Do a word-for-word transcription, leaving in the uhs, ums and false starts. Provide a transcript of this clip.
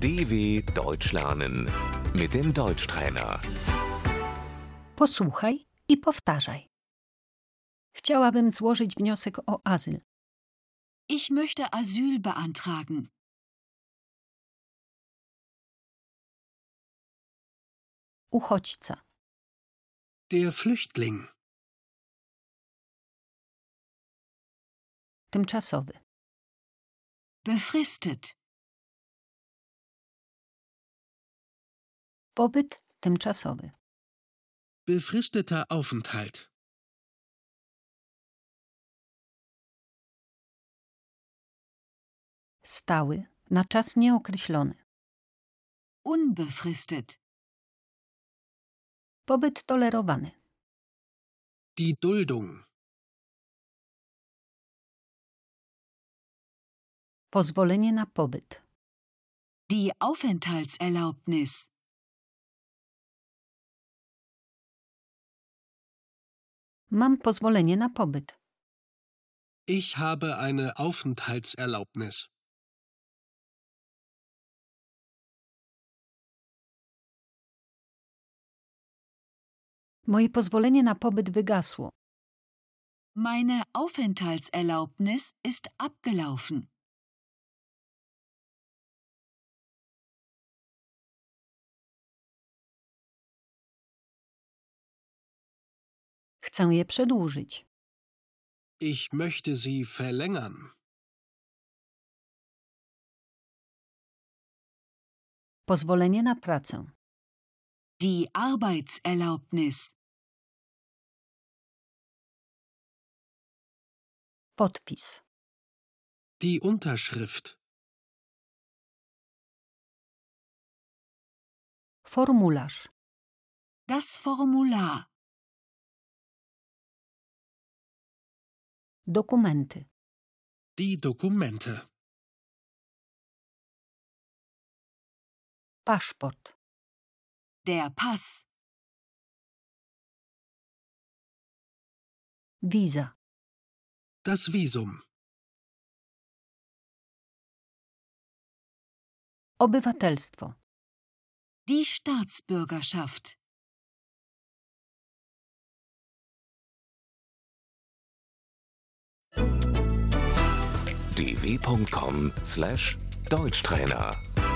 D W Deutsch lernen mit dem Deutschtrainer. Posłuchaj i powtarzaj. Chciałabym złożyć wniosek o azyl. Ich möchte Asyl beantragen. Uchodźca. Der Flüchtling. Tymczasowy. Befristet. Pobyt tymczasowy. Befristeter Aufenthalt. Stały, na czas nieokreślony. Unbefristet. Pobyt tolerowany. Die Duldung. Pozwolenie na pobyt. Die Aufenthaltserlaubnis. Mam pozwolenie na pobyt. Ich habe eine Aufenthaltserlaubnis. Moje pozwolenie na pobyt wygasło. Meine Aufenthaltserlaubnis ist abgelaufen. Chcę je przedłużyć. Ich möchte sie verlängern. Pozwolenie na pracę. Die Arbeitserlaubnis. Podpis. Die Unterschrift. Formularz. Das Formular. Dokumenty. Die Dokumente. Paszport. Der Pass. Wiza. Das Visum. Obywatelstwo. Die Staatsbürgerschaft. d w punkt com slash Deutschtrainer